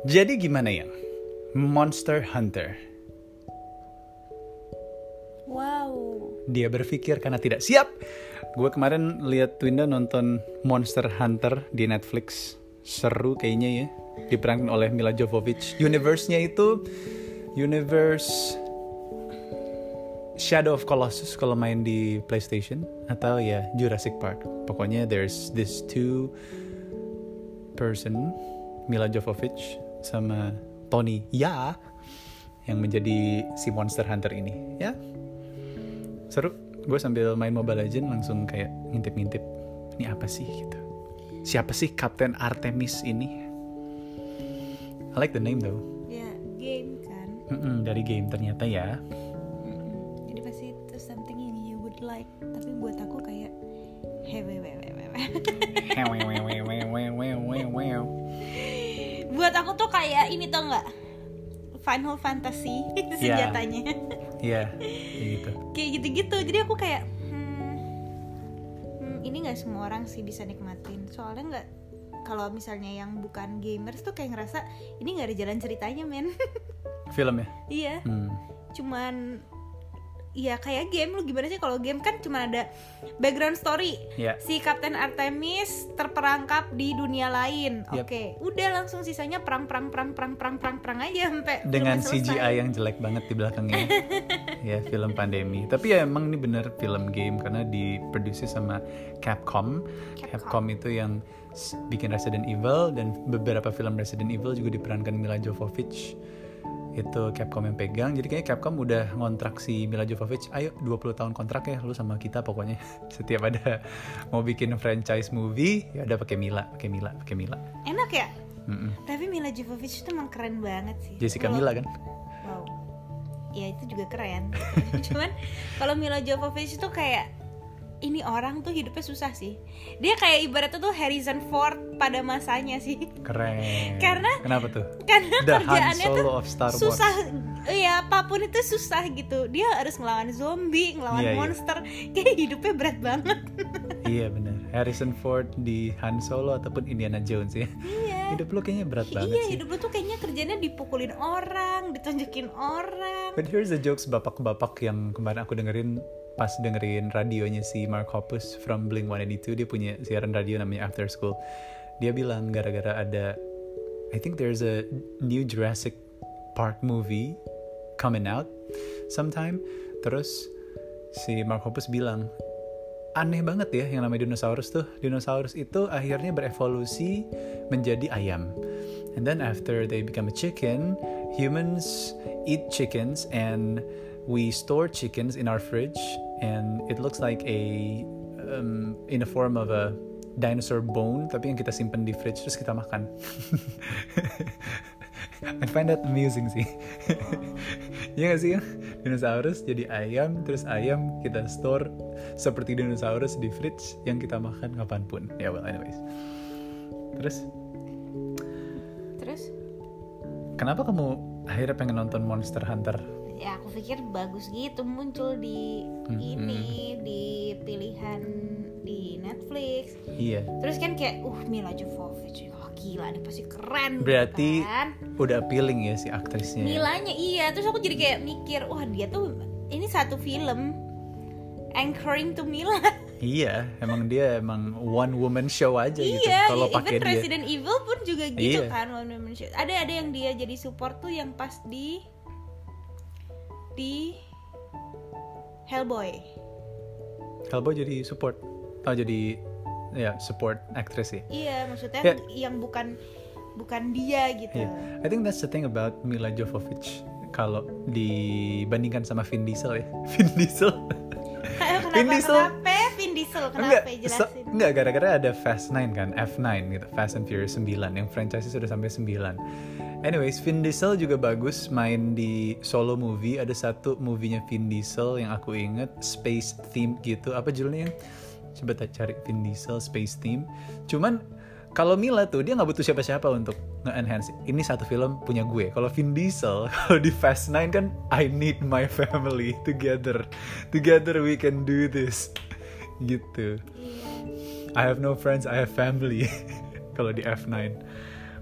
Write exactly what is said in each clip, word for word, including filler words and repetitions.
Jadi gimana ya? Monster Hunter. Wow. Dia berpikir karena tidak siap. Gue kemarin lihat Twinda nonton Monster Hunter di Netflix. Seru kayaknya ya. Diperankan oleh Mila Jovovich. Universe-nya itu universe Shadow of Colossus kalau main di PlayStation, atau ya Jurassic Park. Pokoknya there's this two person, Mila Jovovich sama Tony Ya, yang menjadi si Monster Hunter ini. Ya, seru. Gue sambil main Mobile Legends langsung kayak ngintip-ngintip, ini apa sih gitu. Siapa sih Kapten Artemis ini? I like the name though. Ya, game kan. Mm-mm, dari game ternyata ya. Jadi pasti itu something yang you would like. Tapi buat aku kayak hewewewewewe. Buat aku tuh kayak ini tau nggak? Final Fantasy senjatanya. Iya, kayak gitu. Kayak gitu-gitu. Jadi aku kayak hmm, hmm, ini nggak semua orang sih bisa nikmatin. Soalnya nggak, kalau misalnya yang bukan gamers tuh kayak ngerasa ini nggak ada jalan ceritanya, men. Film ya? Iya. Hmm. Cuman ya kayak game. Lu gimana sih kalau game kan cuma ada background story. Yeah. Si Kapten Artemis terperangkap di dunia lain. Yep. Oke, udah langsung sisanya perang perang perang perang perang perang perang aja sampai Dengan filmnya C G I selesai. yang jelek banget di belakangnya. Ya, film pandemi. Tapi ya emang ini bener film game karena diproduksi sama Capcom. Capcom. Capcom itu yang s- bikin Resident Evil, dan beberapa film Resident Evil juga diperankan Mila Jovovich. Itu Capcom yang pegang. Jadi kayaknya Capcom udah ngontrak si Mila Jovovich, ayo dua puluh tahun kontrak ya lu sama kita pokoknya. Setiap ada mau bikin franchise movie, ya udah pakai Mila, pakai Mila, pakai Mila. Enak ya? Mm-mm. Tapi Mila Jovovich itu emang keren banget sih. Jessica Kalau- Mila kan? Wow. Ya itu juga keren. Cuman kalau Mila Jovovich itu kayak ini orang tuh hidupnya susah sih. Dia kayak ibaratnya tuh Harrison Ford pada masanya sih. Keren. Karena- Kenapa tuh? Karena The Han kerjaannya tuh Solo of Star Wars. susah. Ya apapun itu susah gitu. Dia harus ngelawan zombie, ngelawan Iya, iya. monster. Kayak hidupnya berat banget. Iya benar. Harrison Ford di Han Solo ataupun Indiana Jones ya. Iya. Hidup lu kayaknya berat banget Iya, sih. hidup lu tuh kayaknya kerjanya dipukulin orang, ditunjukin orang. But here's the jokes bapak-bapak yang kemarin aku dengerin pas dengerin radionya si Mark Hoppus from Blink one eighty-two. Dia punya siaran radio namanya After School. Dia bilang gara-gara ada, I think there's a new Jurassic Park movie coming out sometime. Terus si Mark Hoppus bilang, aneh banget ya yang namanya dinosaurus tuh. Dinosaurus itu akhirnya berevolusi menjadi ayam. And then after they become a chicken, humans eat chickens and we store chickens in our fridge and it looks like a um, in a form of a dinosaur bone, tapi yang kita simpen di fridge terus kita makan. I find that amusing sih. Iya gak sih ya? Dinosaurus jadi ayam, terus ayam kita store seperti dinosaurus di fridge yang kita makan kapanpun. Ya yeah, well anyways. Terus Terus kenapa kamu akhirnya pengen nonton Monster Hunter? ya aku pikir bagus gitu muncul di Hmm. ini di pilihan di Netflix. Iya. Terus kan kayak uh Mila Jovovich, wah gila nih pasti keren. Berarti gitu kan. udah appealing ya si aktrisnya. Milanya iya, terus aku jadi kayak mikir, wah dia tuh ini satu film anchoring to Mila. Iya, emang dia emang one woman show aja gitu. Iya, Kalau even pakai dia. Resident Evil pun juga gitu Iya. kan one woman show. Ada ada yang dia jadi support tuh yang pas di di Hellboy. Hellboy jadi support. Oh jadi ya support actress sih. Iya, maksudnya Ya. yang bukan bukan dia gitu. Iya. I think that's the thing about Mila Jovovich. Kalau dibandingkan sama Vin Diesel ya. Vin Diesel. Kenapa, Vin Diesel. kenapa Vin Diesel? Kenapa Enggak, jelasin? so- enggak gara-gara ada Fast nine kan, F nine gitu, Fast and Furious nine yang franchise sudah sampai sembilan. Anyways, Vin Diesel juga bagus main di solo movie. Ada satu movie-nya Vin Diesel yang aku inget, space theme gitu. Apa judulnya? Coba tak cari Vin Diesel space theme. Cuman kalau Mila tuh dia nggak butuh siapa-siapa untuk nge-enhance. Ini satu film punya gue. Kalau Vin Diesel, kalau di Fast nine kan I need my family together. Together we can do this. Gitu. I have no friends, I have family. Kalau di F nine.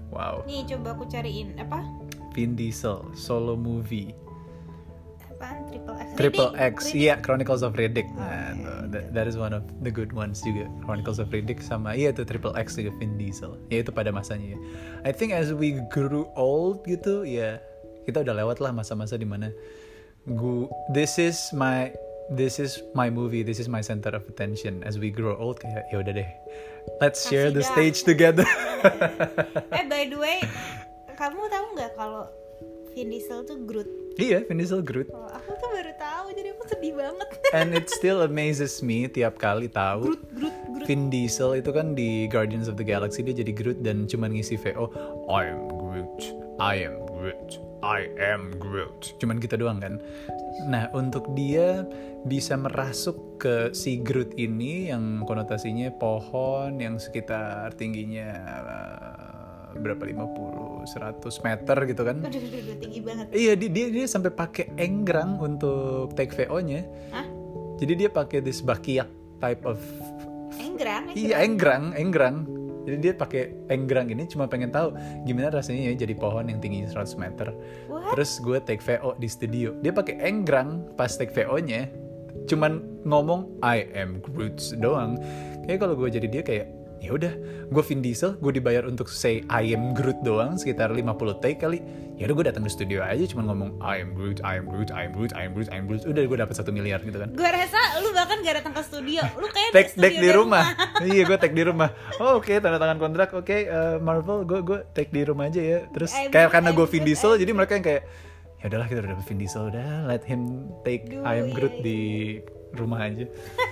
Wow. Nih coba aku cariin apa? Vin Diesel solo movie. Apaan? Triple X. Triple Riddick. X, iya, Chronicles of Riddick. Oh, Nah, okay. tuh, that, that is one of the good ones juga. Chronicles of Riddick sama iya itu Triple X juga Vin Diesel. Ya itu pada masanya ya. I think as we grew old gitu, ya kita udah lewat lah masa-masa dimana gu this is my this is my movie, this is my center of attention. As we grow old kayak ya udah deh. Let's share Kasih the dah. stage together. Eh by the way, kamu tahu nggak kalau Vin Diesel tuh Groot? Iya, Vin Diesel Groot. Oh, aku tuh baru tahu, jadi aku sedih banget. And it still amazes me tiap kali tahu Groot, Groot, Groot. Vin Diesel itu kan di Guardians of the Galaxy dia jadi Groot dan cuman ngisi V O I am Groot, I am Groot, I am Groot. Cuman gitu doang kan. Nah untuk dia bisa merasuk ke si Groot ini yang konotasinya pohon yang sekitar tingginya uh, berapa lima puluh seratus meter gitu kan. Aduh, aduh, aduh, tinggi banget. Iya dia dia, dia sampai pakai enggrang untuk take V O-nya. Hah? Jadi dia pakai this bakiak type of Enggrang? iya enggrang enggrang. Jadi dia pakai enggrang ini cuma pengen tahu gimana rasanya ya jadi pohon yang tinggi seratus meter. What? Terus gue take V O di studio. Dia pakai enggrang pas take V O-nya. Cuman ngomong I am Groot doang. Kayak kalau gue jadi dia kayak ya udah, gue Vin Diesel, gue dibayar untuk say I am Groot doang sekitar lima puluh take kali. Ya udah gue datang ke studio aja cuman ngomong I am Groot, I am Groot, I am Groot, I am Groot, I am Groot. Udah gue dapat satu miliar gitu kan. Gue rasa lu bahkan gak datang ke studio. Lu kayak Take studio take di rumah. Iya, gue take di rumah. Oh, oke, okay, tanda tangan kontrak. Oke, okay, uh, Marvel, gue gue take di rumah aja ya. Terus I'm kayak good, karena I'm gue Vin good, Diesel, I'm jadi good. mereka yang kayak ya udahlah kita udah dapet Vin Diesel, udah let him take Duh, I am iya, Groot iya. di rumah aja.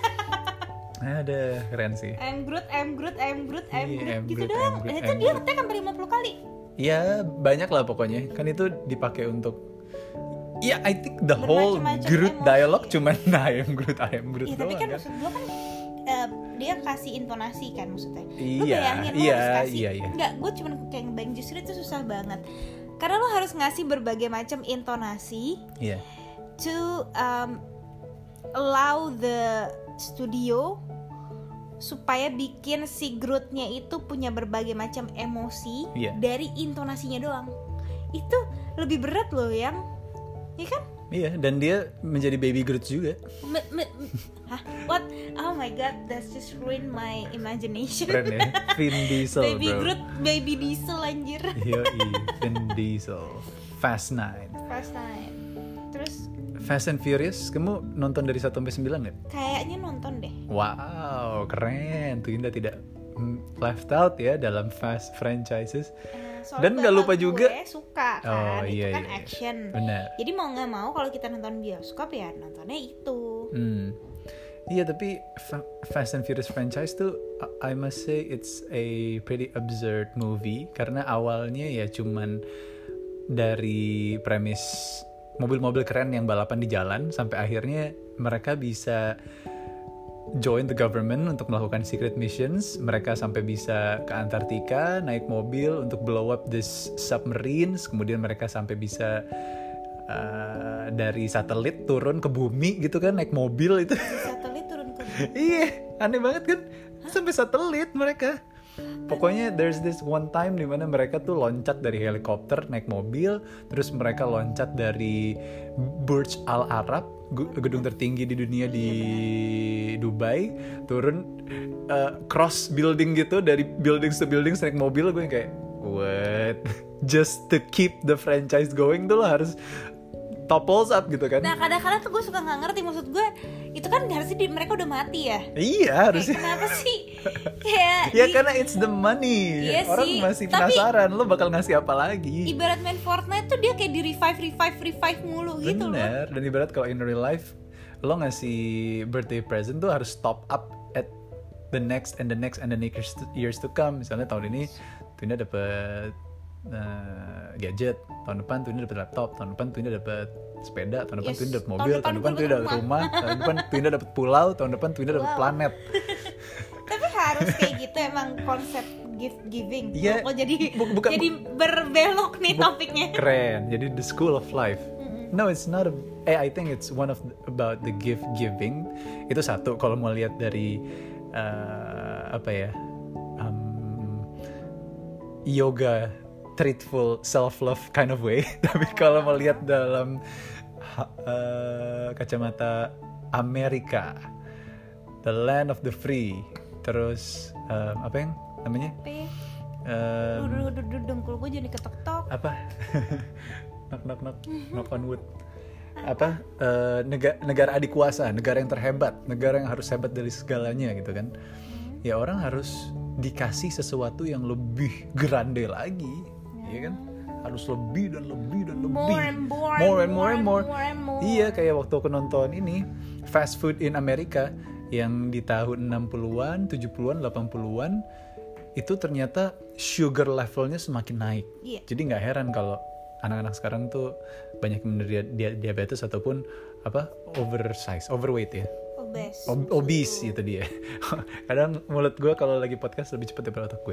Ada keren sih. I'm Groot, I'm Groot, I'm Groot, I'm Iya, Groot I'm gitu Groot, doang. I'm Groot, Dan itu I'm dia Groot. ngetek sampai lima puluh kali. Ya banyak lah pokoknya. Kan itu dipakai untuk ya I think the whole Bermacam-macam Groot emosi. dialog cuman I am Groot, I am Groot Iya, tapi doang kan kan. maksud gue kan eh, dia kasih intonasi kan maksudnya. Lu Iya, bayangin lu iya, harus kasih. iya, iya. Enggak, gue cuma kayak ngebayang justru itu susah banget. Karena lu harus ngasih berbagai macam intonasi Iya. to um, allow the studio supaya bikin si Groot-nya itu punya berbagai macam emosi Iya. dari intonasinya doang. Itu lebih berat loh yang, ya kan? Iya, dan dia menjadi baby Groot juga. Me, me, me- hah? What? Oh my god, that's just ruin my imagination. Keren ya. Vin Diesel, Baby bro. Groot, baby Diesel anjir. Yoi, Vin Diesel. Fast Nine. First time. Terus Fast and Furious, kamu nonton dari satu sampai sembilan nggak? kayaknya nonton deh. Wow, keren. Tuinda tidak mm, left out ya dalam Fast franchises. Eh, soalnya Dan nggak lupa bapak juga- gue suka kan, Oh, itu iya, kan iya. action. Benar. Jadi mau nggak mau kalau kita nonton bioskop ya nontonnya itu. Hmm. Iya, tapi Fa- Fast and Furious franchise tuh I I must say it's a pretty absurd movie karena awalnya ya cuman dari premis mobil-mobil keren yang balapan di jalan sampai akhirnya mereka bisa join the government untuk melakukan secret missions. Mereka sampai bisa ke Antartika naik mobil untuk blow up this submarines. Kemudian mereka sampai bisa uh, dari satelit turun ke bumi gitu kan naik mobil itu. Satelit turun ke Iya, aneh banget kan? Sampai satelit mereka. Pokoknya there's this one time di mana mereka tuh loncat dari helikopter naik mobil, terus mereka loncat dari Burj Al Arab, gu- gedung tertinggi di dunia di Dubai, turun uh, cross building gitu dari building to building naik mobil. Gue kayak what? Just to keep the franchise going tuh lo harus topples up gitu kan? Nah kadang-kadang tuh gue suka nggak ngerti, maksud gue itu kan harusnya di, mereka udah mati ya. Iya Kayak, harusnya. kenapa sih? Kayak Ya di- karena it's the money. Iya Orang sih, masih tapi- penasaran lo bakal ngasih apa lagi. ibarat main Fortnite tuh dia kayak di revive revive revive mulu gitu loh. Bener. Dan ibarat kalau in real life lo ngasih birthday present tuh harus top up at the next and the next and the next years to come. Misalnya tahun ini Tunda dapet uh, gadget, tahun depan Tunda dapet laptop, tahun depan Tunda dapet sepeda, tahun depan Yes, Tunda dapet tahun mobil, depan tahun depan gue Tunda dapet dapet rumah. rumah, tahun depan Tunda dapet pulau, tahun depan Tunda dapet Wow. planet. Tapi harus kayak gitu emang konsep gift giving. Iya, Kok jadi bu- bukan- jadi berbelok nih Bu- topiknya. Keren. Jadi the school of life. No, it's not a. Eh, I think it's one of the, about the gift giving. Itu satu. Kalau mau lihat dari uh, apa ya, um, yoga treatful self love kind of way. Tapi kalau melihat dalam uh, kacamata Amerika, the land of the free, terus um, apa yang namanya? Um, Duduk dengkul gue jadi ketok-tok. Apa? knock knock knock knock on wood. Apa? Uh, negara, negara adik kuasa, negara yang terhebat, negara yang harus hebat dari segalanya gitu kan? Hmm. Ya orang harus dikasih sesuatu yang lebih grande lagi, ya, ya kan? Harus lebih dan lebih dan lebih. More and more, more and more and more. more, and more. Iya, kayak waktu aku nonton ini Fast Food in America yang di tahun enam puluhan, tujuh puluhan, delapan puluhan itu ternyata sugar levelnya semakin naik. Yeah. Jadi nggak heran kalau anak-anak sekarang tuh banyak menderita diabetes ataupun apa oversize, overweight ya. Obese. Ob- obese itu dia. Kadang mulut gue kalau lagi podcast lebih cepat daripada otak gue.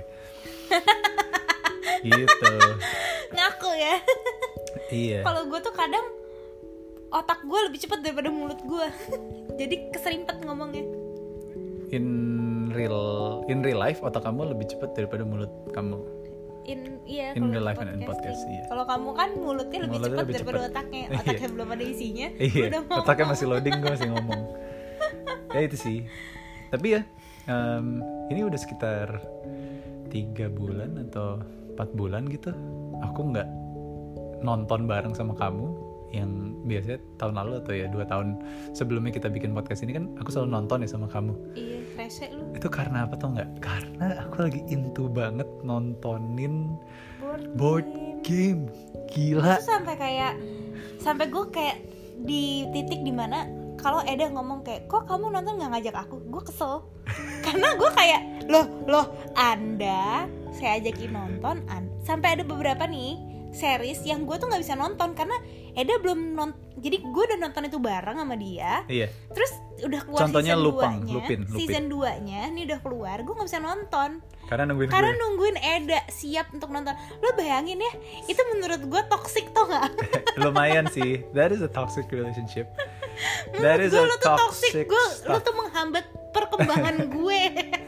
Gitu. Ngaku ya. Iya. Kalau gue tuh kadang otak gue lebih cepat daripada mulut gue. Jadi keserimpet ngomongnya. In real in real life otak kamu lebih cepat daripada mulut kamu. In iya in real life and in podcast iya. Kalau kamu kan mulutnya lebih mulutnya cepat lebih daripada cepet. otaknya. Otaknya belum ada isinya. Iya. Udah Otaknya masih loading, gue masih ngomong. Ya itu sih. Tapi ya um, ini udah sekitar tiga bulan atau empat bulan gitu. Aku nggak nonton bareng sama kamu. Yang biasanya tahun lalu atau ya dua tahun sebelumnya kita bikin podcast ini kan aku selalu nonton ya sama kamu. Iya, rese lu. Itu karena apa tau nggak? Karena aku lagi into banget nontonin board, board game. Gila. Itu sampai kayak sampai gue kayak di titik dimana kalau Eda ngomong kayak kok kamu nonton nggak ngajak aku, gue kesel. Karena gue kayak loh loh Anda saya ajakin nonton, anda. Sampai ada beberapa nih series yang gue tuh nggak bisa nonton karena Eda belum nonton. Jadi gue udah nonton itu bareng sama dia. Iya. Terus udah keluar contohnya season Lupang, dua-nya, Lupin, Lupin. season dua-nya ini udah keluar, gue nggak bisa nonton. Karena nungguin Karena gue. nungguin Eda siap untuk nonton. Lo bayangin ya, itu menurut gue toxic tau gak? Lumayan sih. That is a toxic relationship. That is gue, a lo tuh toxic, toxic. Gue, lo stuff. tuh menghambat perkembangan gue.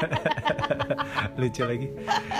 Lucu lagi.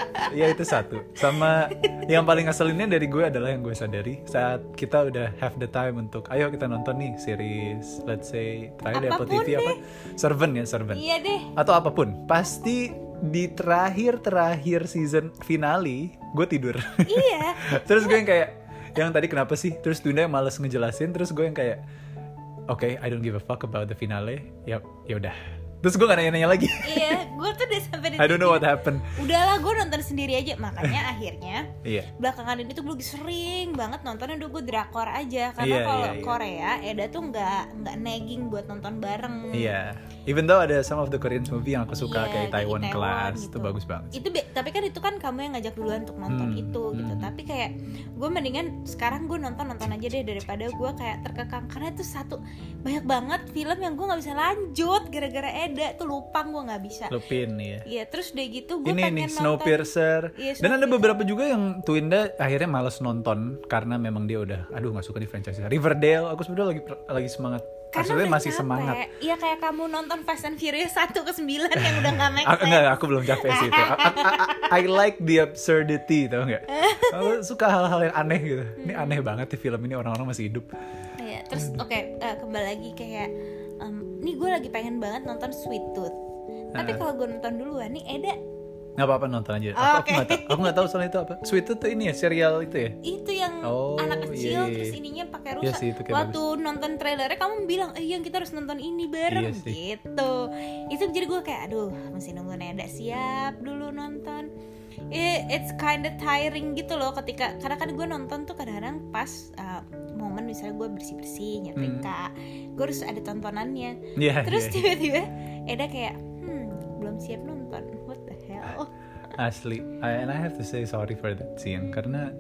Ya itu satu. Sama yang paling ngeselinnya dari gue adalah yang gue sadari saat kita udah have the time untuk ayo kita nonton nih series, let's say terakhir di Apple T V Apapun apa? Servant ya, Servant. Iya deh. Atau apapun. Pasti di terakhir-terakhir season finale gue tidur. Iya. Terus gue yang kayak yang tadi kenapa sih? Terus Tunda yang males ngejelasin, terus gue yang kayak oke, okay, I don't give a fuck about the finale. Yap, ya udah. Terus gue gak nanya-nanya lagi. Iya, gue tuh udah sampai di I don't know what happened. Udahlah, gue nonton sendiri aja. Makanya akhirnya Iya. belakangan ini tuh gue lagi sering banget nontonnya udah gue drakor aja. Karena Iya, kalau iya, iya. Korea, Eda tuh nggak nggak nagging buat nonton bareng. Iya. Even though ada some of the Korean movie yang aku suka Iya, kayak Taiwan, Taiwan Class, gitu. itu bagus banget. Itu be- tapi kan itu kan kamu yang ngajak duluan untuk nonton Hmm, itu gitu. hmm. Tapi kayak gue mendingan sekarang gue nonton nonton aja deh daripada gue kayak terkekang karena itu satu banyak banget film yang gue nggak bisa lanjut gara-gara Eda tuh Lupang gue nggak bisa. Lupin ya. Iya terus udah gitu gue Ini pengen nih nonton. Snowpiercer. Iya, Dan ada Snowpiercer. beberapa juga yang Twinda akhirnya malas nonton karena memang dia udah aduh nggak suka di franchise. Riverdale aku sebenarnya lagi lagi semangat. Karena Maksudnya udah masih capek. semangat. Iya kayak kamu nonton Fast and Furious satu ke sembilan yang udah gak make Aku, sense. enggak, aku belum capek sih itu. I, I, I, I like the absurdity, tau nggak? Aku suka hal-hal yang aneh gitu. Ini aneh banget di film ini orang-orang masih hidup. Iya, terus oke eh, kembali lagi kayak um, nih gue lagi pengen banget nonton Sweet Tooth. Tapi Uh. kalau gue nonton duluan nih Eda Nggak apa-apa nonton aja. Aku, Oh, aku oke. nggak tahu. Aku nggak tahu soal itu apa. Sweet Tooth tuh ini ya serial itu ya. itu yang Oh, anak kecil iya, iya. terus ininya pakai Iya rusak. sih, itu kayak Waktu nonton trailernya kamu bilang, "Eh, yang kita harus nonton ini bareng." Iya sih. Gitu. Itu jadi gue kayak aduh, mesti nunggu Eda siap dulu nonton. Eh, It's kinda tiring gitu loh ketika karena kan gue nonton tuh kadang-kadang pas uh, momen misalnya gue bersih-bersih nyetrika, gue harus ada tontonannya. Iya. Terus iya. tiba-tiba Eda kayak hmm belum siap nonton, what the hell. Asli, I, and I have to say sorry for that scene karena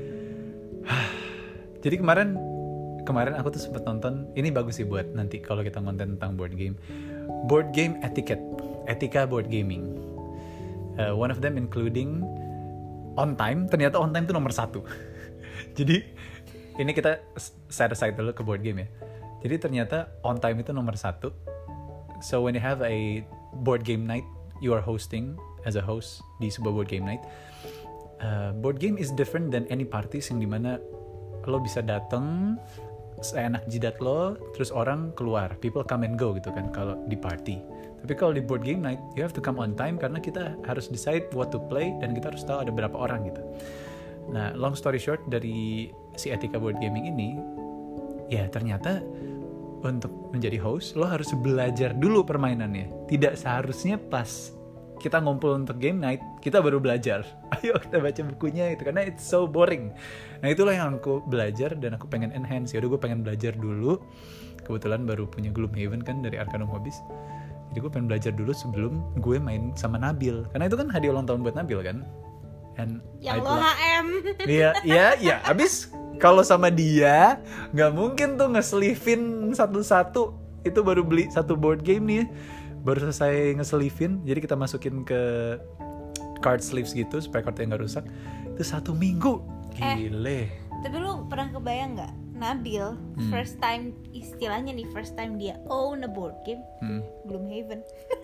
jadi kemarin kemarin aku tuh sempet nonton ini bagus sih buat nanti kalau kita ngonten tentang board game, board game etiquette, etika board gaming. Uh, one of them including on time. Ternyata on time tuh nomor satu. Jadi ini kita set aside dulu ke board game ya. Jadi ternyata on time itu nomor satu. So when you have a board game night, you are hosting as a host di sebuah board game night, uh, board game is different than any parties yang dimana lo bisa datang seenak jidat lo, terus orang keluar, people come and go gitu kan kalau di party. Tapi kalau di board game night, you have to come on time karena kita harus decide what to play dan kita harus tahu ada berapa orang gitu. Nah, long story short dari si Etika Board Gaming ini, ya ternyata untuk menjadi host lo harus belajar dulu permainannya. Tidak seharusnya pas kita ngumpul untuk game night kita baru belajar. Ayo kita baca bukunya itu karena it's so boring. Nah itulah yang aku belajar dan aku pengen enhance. Yaudah gue pengen belajar dulu. Kebetulan baru punya Gloomhaven kan dari Arcanum Hobbies. Jadi gue pengen belajar dulu sebelum gue main sama Nabil. Karena itu kan hadiah ulang tahun buat Nabil kan. And yang lo H M. Iya, iya, iya. Abis kalau sama dia nggak mungkin tuh ngeselifin satu-satu. Itu baru beli satu board game nih. Baru selesai ngeselifin, jadi kita masukin ke card sleeves gitu supaya kartunya nggak rusak. Itu satu minggu, gile. Eh, tapi lu pernah kebayang nggak, Nabil hmm. first time istilahnya nih first time dia own a board game, hmm. Gloomhaven.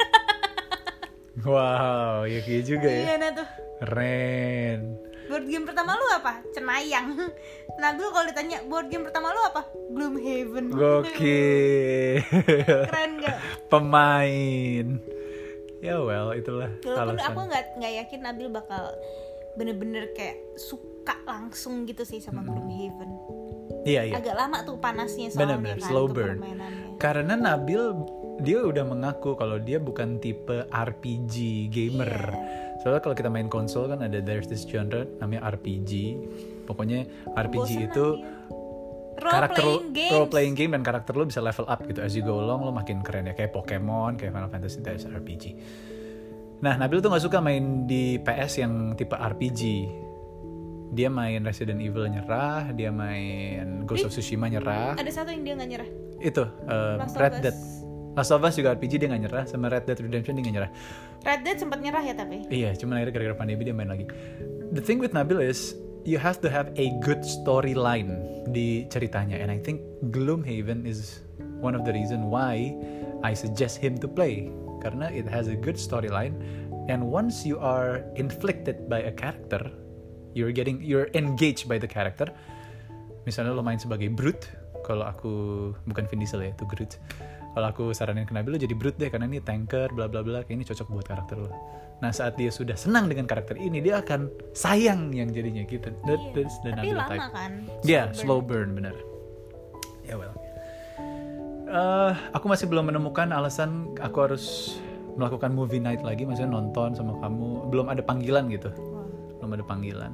Wow, ya kayak juga ya. Iya nah tuh. Keren. Board game pertama lu apa? Cenayang. Nabil kalau ditanya board game pertama lu apa? Gloomhaven. Gokil. Keren gak? Pemain. Ya well, itulah Walaupun alasan. aku nggak nggak yakin Nabil bakal bener-bener kayak suka langsung gitu sih sama hmm. Gloomhaven. Iya iya. Agak lama tuh panasnya soalnya Bener-bener, kan, slow burn. Karena Nabil dia udah mengaku kalau dia bukan tipe R P G gamer. Yeah. Soalnya kalau kita main konsol kan ada there's this genre namanya R P G. Pokoknya R P G Bosen itu role karakter playing games. role playing game dan karakter lo bisa level up gitu as you go along, lo makin keren ya, kayak Pokemon, kayak Final Fantasy, that's R P G. Nah, Nabil tuh nggak suka main di P S yang tipe R P G. Dia main Resident Evil nyerah, dia main Ghost of Tsushima nyerah. Ada satu yang dia nggak nyerah. Itu uh, Red Dead. Last of Us juga R P G dia nggak nyerah, sama Red Dead Redemption dia nggak nyerah. Red Dead sempat nyerah ya tapi. Iya, cuma akhirnya gara-gara pandemi dia main lagi. The thing with Nabil is you have to have a good storyline di ceritanya, and I think Gloomhaven is one of the reason why I suggest him to play, karena it has a good storyline, and once you are inflicted by a character, you're getting you're engaged by the character. Misalnya lo main sebagai Brute, kalau aku bukan Vin Diesel ya, itu Groot. Kalau aku saranin ke Nabil, lo jadi Brute deh karena ini tanker bla bla bla, kayak ini cocok buat karakter lo. Nah saat dia sudah senang dengan karakter ini, dia akan sayang yang jadinya gitu. That, iya. that's the Tapi Nabil lama type. kan? Iya, yeah, slow burn bener. Ya yeah, well. Uh, aku masih belum menemukan alasan aku harus melakukan movie night lagi, maksudnya nonton sama kamu. Belum ada panggilan gitu. Wow. Belum ada panggilan.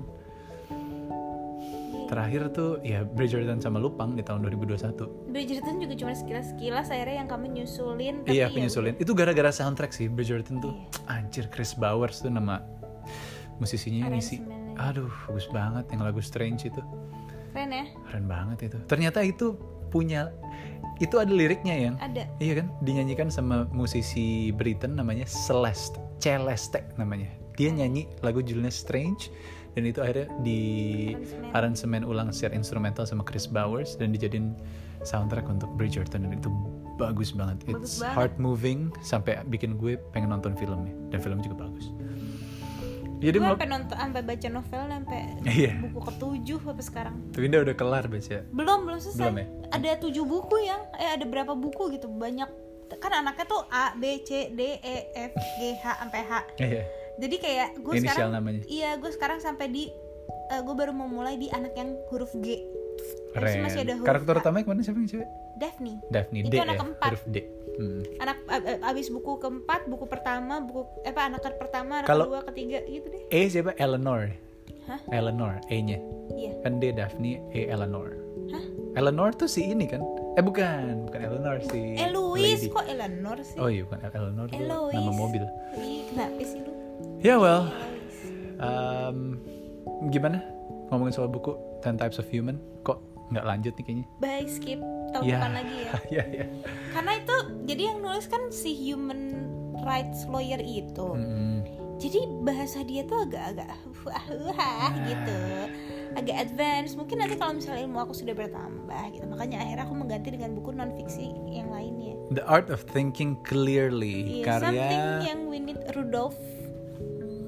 Terakhir tuh ya Bridgerton sama Lupang di tahun dua ribu dua puluh satu. Bridgerton juga cuma sekilas-sekilas, akhirnya yang kami nyusulin. Tapi iya, ya aku nyusulin. Itu gara-gara soundtrack sih Bridgerton tuh. Iya. Anjir, Chris Bowers tuh nama musisinya ngisi. Aduh, bagus banget yang lagu Strange itu. Keren ya? Keren banget itu. Ternyata itu punya, itu ada liriknya yang. Ada. Iya kan? Dinyanyikan sama musisi Britain namanya Celeste, Celeste namanya. Dia nyanyi lagu judulnya Strange. Dan itu akhirnya di aransemen ulang secara instrumental sama Chris Bowers dan dijadiin soundtrack untuk Bridgerton, dan itu bagus banget. Bagus It's banget. heart moving sampai bikin gue pengen nonton filmnya, dan film juga bagus. Jadi gue mau sampai nonton, sampai baca novel sampai iya. buku ketujuh sampai sekarang. Tapi Winda udah kelar baca? Belum, belum selesai. Belum ya? Ada tujuh buku yang, eh ada berapa buku gitu, banyak. Kan anaknya tuh A, B, C, D, E, F, G, H sampai H. Iya. Jadi kayak gue Inisial sekarang, namanya. iya gue sekarang sampai di, uh, gue baru mau mulai di anak yang huruf G. Keren. Masih ada huruf Karakter H. utamanya kemana, siapa yang cewek? Daphne. Daphne. Itu D anak ya? keempat. Huruf D. Hmm. Anak ab- abis buku keempat, buku pertama, buku eh, apa anak pertama, anak Kalo kedua, ketiga gitu deh. E siapa? Eleanor. Hah? Eleanor, E-nya. Iya. Kan D Daphne, E Eleanor. Hah? Eleanor tuh si ini kan? Eh bukan, bukan Eleanor si Eloise, lady. kok Eleanor sih? Oh iya, bukan Eleanor tuh Eloise. nama mobil. Ih, kenapa sih lu? Ya yeah, well, um, gimana ngomongin soal buku Ten Types of Human? Kok nggak lanjut nih kayaknya? Bye, skip. Tahun yeah. depan lagi ya. Iya, iya. Karena itu, jadi yang nulis kan si human rights lawyer itu. Mm-hmm. Jadi bahasa dia tuh agak-agak wah wah gitu, agak advance. Mungkin nanti kalau misalnya ilmu aku sudah bertambah gitu, makanya akhirnya aku mengganti dengan buku non fiksi yang lainnya. The Art of Thinking Clearly, Iya, karya something yang we need Rudolf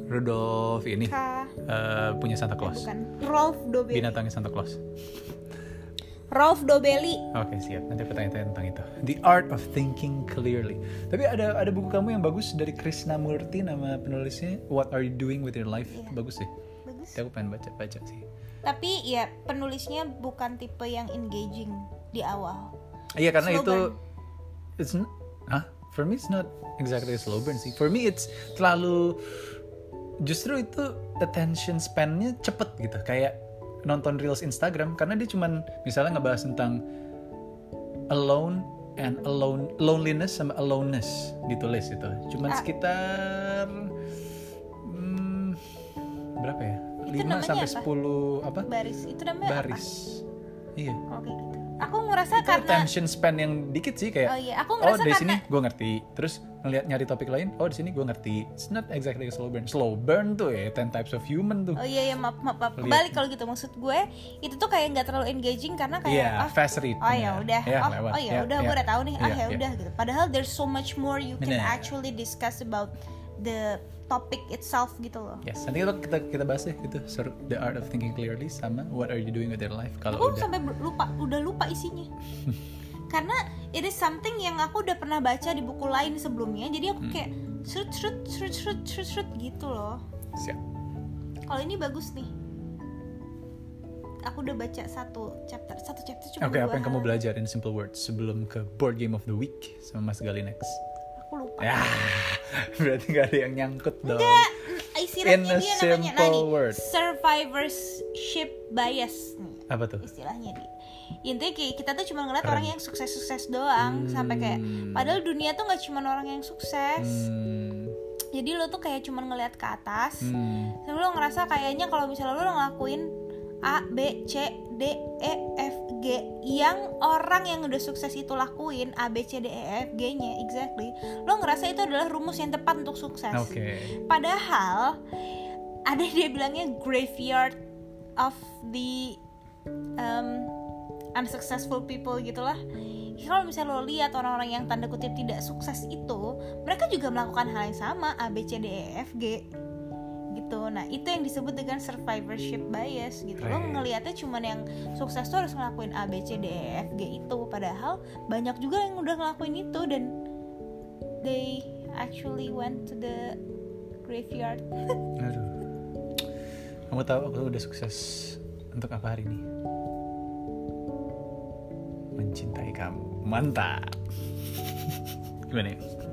Rudolph ini Ka- uh, punya Santa Claus. bukan Rolf Dobelli. Binatangnya Santa Claus. Rolf Dobelli. Oke, siap. Nanti aku tanya-tanya tentang itu. The Art of Thinking Clearly. Tapi ada ada buku kamu yang bagus dari Krishnamurti, nama penulisnya What Are You Doing With Your Life. Iya. Bagus sih. Bagus. Tapi aku pengen baca-baca sih. Tapi ya penulisnya bukan tipe yang engaging di awal. Iya, karena Slow itu burn. it's n- huh? For me it's not exactly a slow burn sih. For me it's terlalu, justru itu attention span-nya cepet gitu. Kayak nonton reels Instagram, karena dia cuman misalnya ngebahas tentang alone and alone, loneliness sama aloneness ditulis itu. Cuman Ah. sekitar hmm, berapa ya? Itu lima namanya sampai apa? sepuluh apa? Baris. Itu namanya Baris. Iya. apa? Oke gitu. Aku ngerasa Itu karena attention span yang dikit sih, kayak Oh iya, aku oh ngerasa dari karena sini gue ngerti, terus ngeliat nyari topik lain, oh di sini gue ngerti. It's not exactly a slow burn. Slow burn tuh ya ten types of human tuh. Oh iya ya maaf maaf, maaf. Lihat. Kembali kalau gitu, maksud gue itu tuh kayak nggak terlalu engaging karena kayak Iya, ah, fast read. oh ya udah, Ya, oh, lewat. oh ya Ya, udah, gue ya. udah tahu nih, ah Iya, ya iya. udah gitu. Padahal there's so much more you can Bener. actually discuss about the topic itself gitu loh. Yes, nanti kita kita, kita bahas deh itu sur- The Art of Thinking Clearly sama What Are You Doing With Your Life. Kalau Aku udah sampai ber- lupa, udah lupa isinya. Karena it is something yang aku udah pernah baca di buku lain sebelumnya, jadi aku kayak srut srut srut srut srut srut gitu loh. siap. Kalau ini bagus nih. Aku udah baca satu chapter, satu chapter cuma Oke, dua apa yang kamu halaman. belajar in simple words sebelum ke Board Game of the Week sama Mas Gali next? Aku lupa. Ya, berarti gak ada yang nyangkut dong. Enggak, In istilahnya a dia namanya simple nani word. survivorship bias nih, Apa tuh? istilahnya dia. Intinya kayak kita tuh cuma ngeliat Keren. orang yang sukses-sukses doang, sampai kayak padahal dunia tuh nggak cuma orang yang sukses. Hmm, Jadi lo tuh kayak cuma ngeliat ke atas, hmm. terus lo ngerasa kayaknya kalau misalnya lo ngelakuin A, B, C, D, E, F, G yang orang yang udah sukses itu lakuin, A, B, C, D, E, F, G-nya exactly, lo ngerasa itu adalah rumus yang tepat untuk sukses. Oke. Padahal ada dia bilangnya graveyard of the um, unsuccessful people gitulah. Kalau misalnya lo lihat orang-orang yang tanda kutip tidak sukses itu, mereka juga melakukan hal yang sama, A, B, C, D, E, F, G gitu. Nah itu yang disebut dengan survivorship bias gitu. Lo Right. ngelihatnya cuman yang sukses tuh harus ngelakuin A, B, C, D, E, F, G itu. Padahal banyak juga yang udah ngelakuin itu dan they actually went to the graveyard. Aduh. Kamu tahu aku udah sukses untuk apa hari ini? Mencintai kamu. Mantap. Gimana ya?